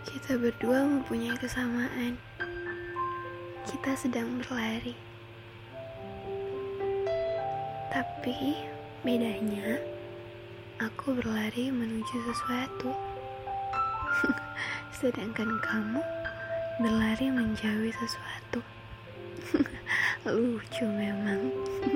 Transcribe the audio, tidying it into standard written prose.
Kita berdua mempunyai kesamaan. Kita sedang berlari. Tapi bedanya, aku berlari menuju sesuatu. Sedangkan kamu berlari menjauhi sesuatu. Lucu memang.